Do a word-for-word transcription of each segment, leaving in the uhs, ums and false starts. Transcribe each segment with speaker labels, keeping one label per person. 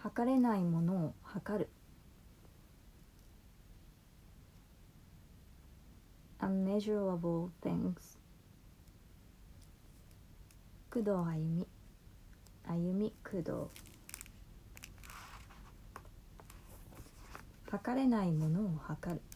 Speaker 1: 測れないものを測る。unmeasurable things。工藤あゆみ、あゆみ工藤。測れないものを測る。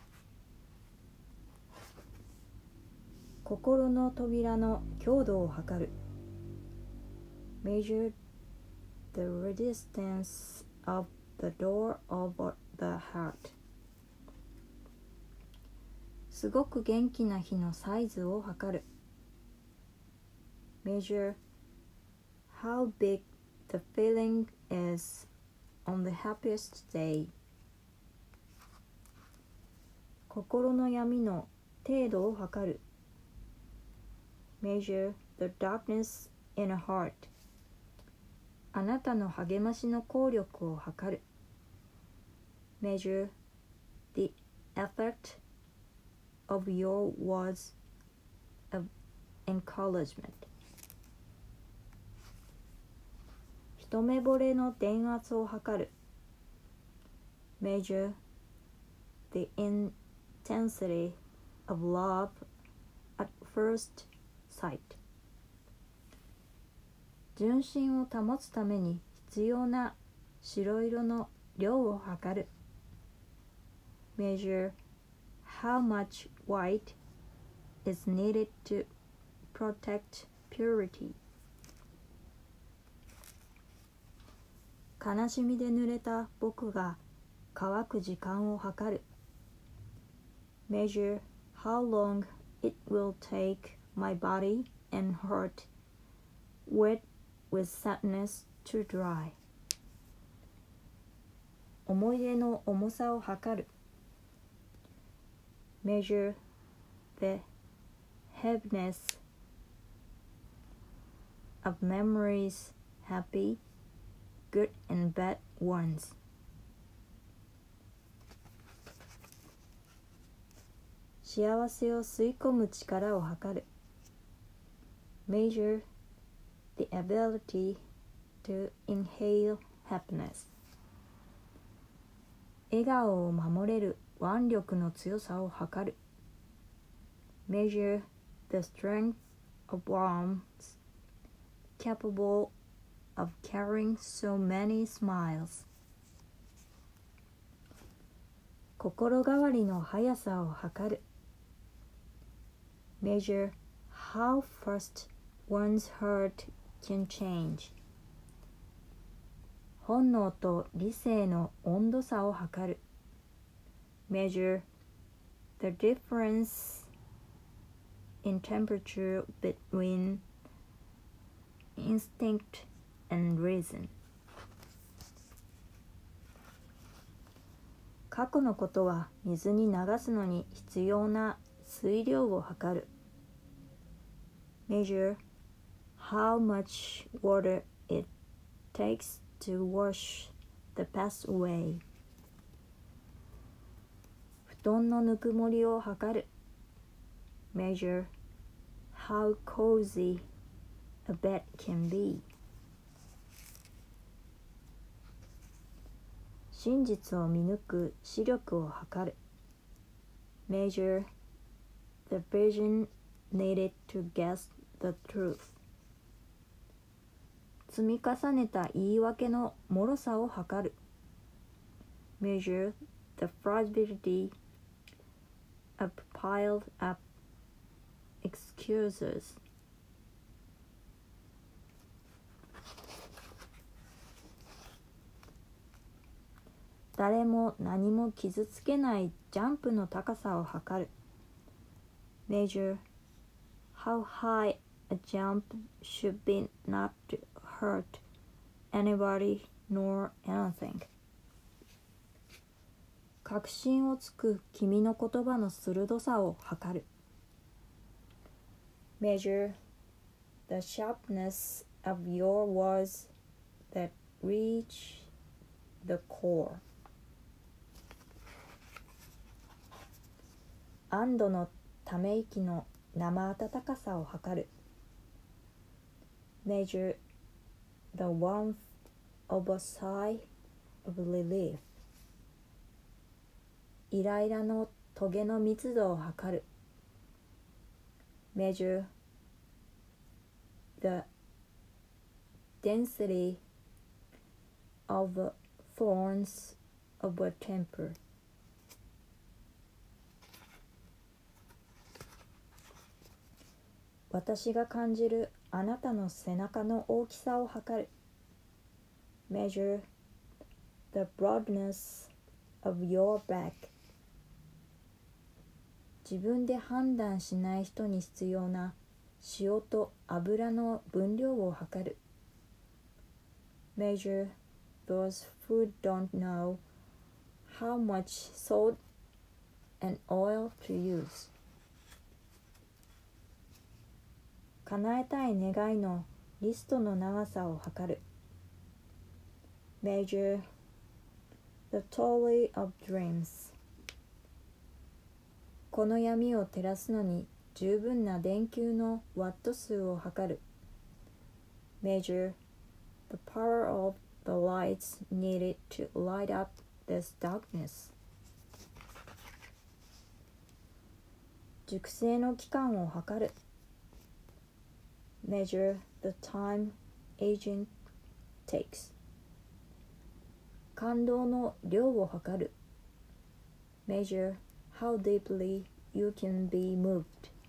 Speaker 1: 心の扉の強度を測る。measure the resistance of the door of the heart。すごく元気な日のサイズを測る。measure how big the feeling is on the happiest day。心の闇の程度を測る。measure the darkness in a heart。あなたの励ましの効力を測る。measure the effect of your words of encouragement。一目惚れの電圧を測る。measure the intensity of love at first sight。純真を保つために必要な白色の量を測る。measure how much white is needed to protect purity。悲しみで濡れた僕が乾く時間を測る。measure how long it will take my body and heart wet with sadness to dry。思い出の重さを測る。measure the heaviness of memories, happy, good and bad ones。幸せを吸い込む力を測る。measure the ability to inhale happiness。笑顔を守れる腕力の強さを測る。measure the strength of arms capable of carrying so many smiles。心変わりの速さを測る。measure how fast one's heart can change。本能と理性の温度差を測る。measure the difference in temperature between instinct and reason。過去のことは水に流すのに必要な水量を測る。measure how much water it takes to wash the past away。布団のぬくもりを測る。measure how cozy a bed can be。真実を見抜く視力を測る。measure the vision needed to guess the truth。積み重ねた言い訳の脆さを測る。measure the fragility of piled up excuses。誰も何も傷つけないジャンプの高さを測る。measure how high a jump should be not to hurt anybody nor anything。確信をつく君の言葉の鋭さを測る。measure the sharpness of your words that reach the core。安堵のため息の生温かさを測る。measure the warmth of a sigh of relief. イライラのトゲの密度を測る。Measure the density of the thorns of a temper. 私が感じるあなたの背中の大きさを測る。Measure the broadness of your back. 自分で判断しない人に必要な塩と油の分量を測る。Measure those who don't know how much salt and oil to use. 叶えたい願いのリストの長さを測る。Measure the tally of dreams. この闇を照らすのに十分な電球のワット数を測る。Measure the power of the lights needed to light up this darkness. 熟成の期間を測る。Measure the time aging takes. 感動の量を測る。Measure how deeply you can be moved.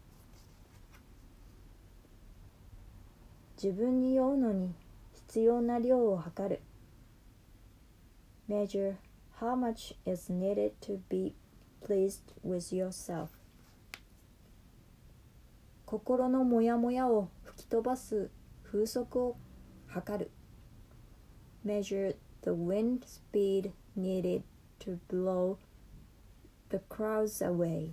Speaker 1: 自分に酔うのに必要な量を測る。Measure how much is needed to be pleased with yourself. 心のモヤモヤを吹き飛ばす風速を測る。Measure the wind speed needed to blow the crowds away.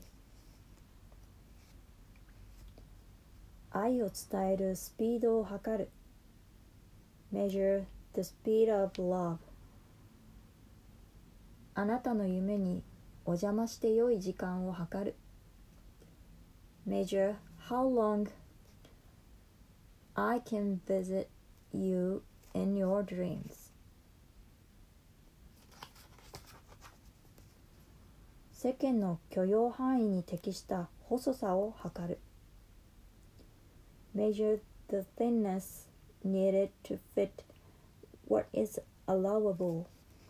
Speaker 1: 愛を伝えるスピードを測る。Measure the speed of love. あなたの夢にお邪魔して良い時間を測る。Measure how long I can visit you in your dreams. 世間の許容範囲に適した細さを測る。Measure the thinness needed to fit what is allowable.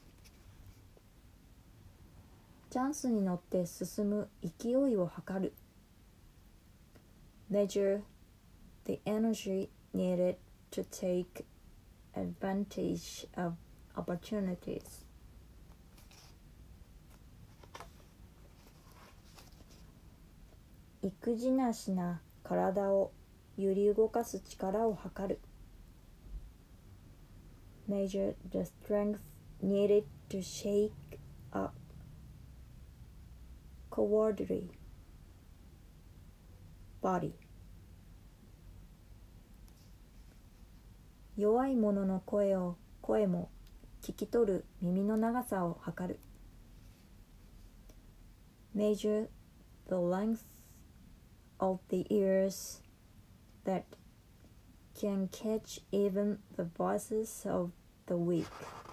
Speaker 1: チャンスに乗って進む勢いを測る。Measure the energy needed to take advantage of opportunities. 育児なしな体を揺り動かす力を測る。Measure the strength needed to shake up cowardly body. 弱い者の声を声も聞き取る耳の長さを測る。Measure the length of the ears that can catch even the voices of the weak.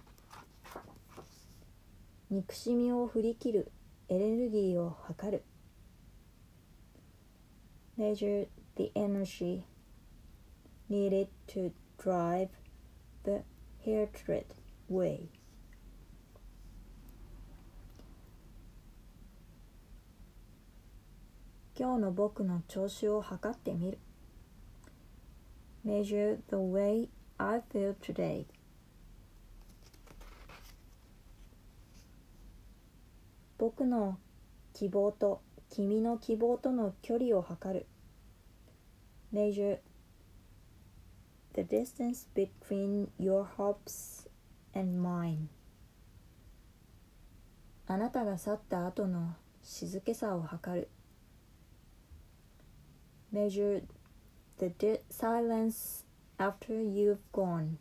Speaker 1: 憎しみを振り切るエネルギーを測る。Measure the energy needed to drive the hatred away. 今日の僕の調子を測ってみる。Measure the way I feel today. 僕の希望と君の希望との距離を測る。Measure the distance between your hopes and mine. あなたが去った後の静けさを測る。Measure the di- silence after you've gone.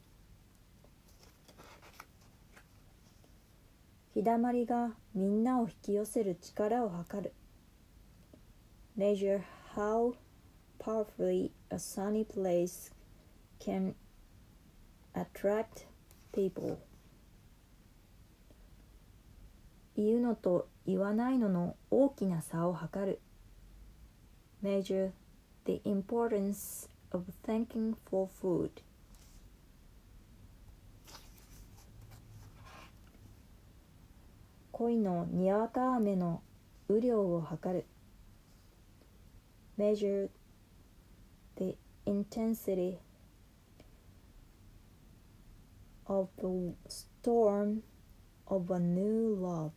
Speaker 1: 日だまりがみんなを引き寄せる力を測る。Measure how powerfully a sunny place can attract people 言うのと言わないのの大きな差を測る measure the importance of thanking for food 恋のにわか雨の雨量を測る measure the intensity of the storm of a new love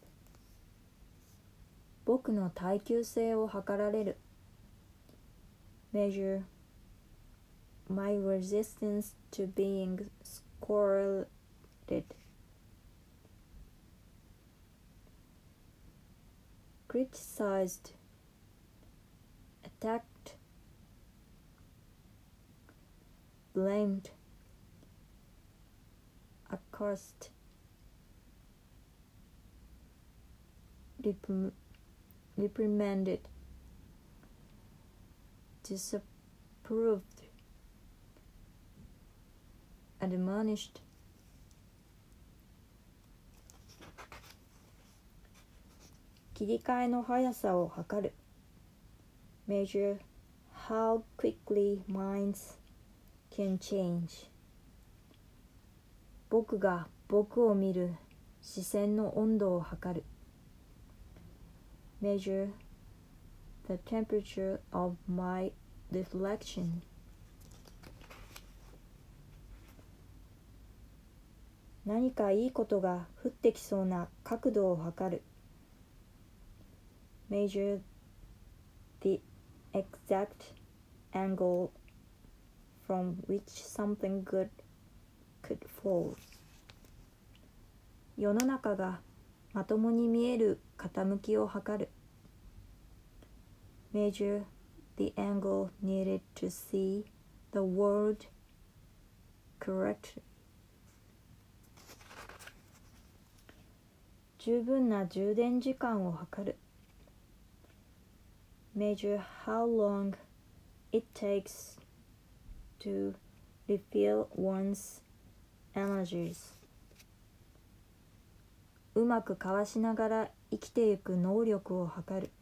Speaker 1: 僕の耐久性を測られる measure my resistance to being scolded criticized attacked blamed accused rep- reprimanded disapproved admonished 切り替えの速さを測る measure how quickly minds can change 僕が僕を見る視線の温度を測る measure the temperature of my reflection 何かいいことが降ってきそうな角度を測る measure the exact angle from which something good could fall 世の中がまともに見える傾きを測る measure the angle needed to see the world correctly 十分な充電時間を測る measure how long it takes to refill one's energies うまくかわしながら生きていく能力を測る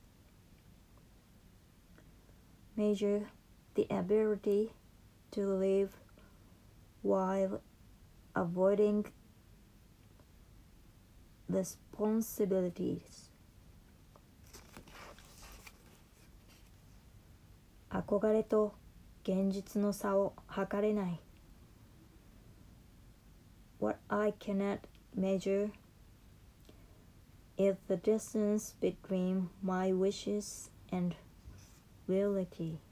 Speaker 1: measure the ability to live while avoiding responsibilities 憧れと現実の差を測れない What I cannot measure is the distance between my wishes and reality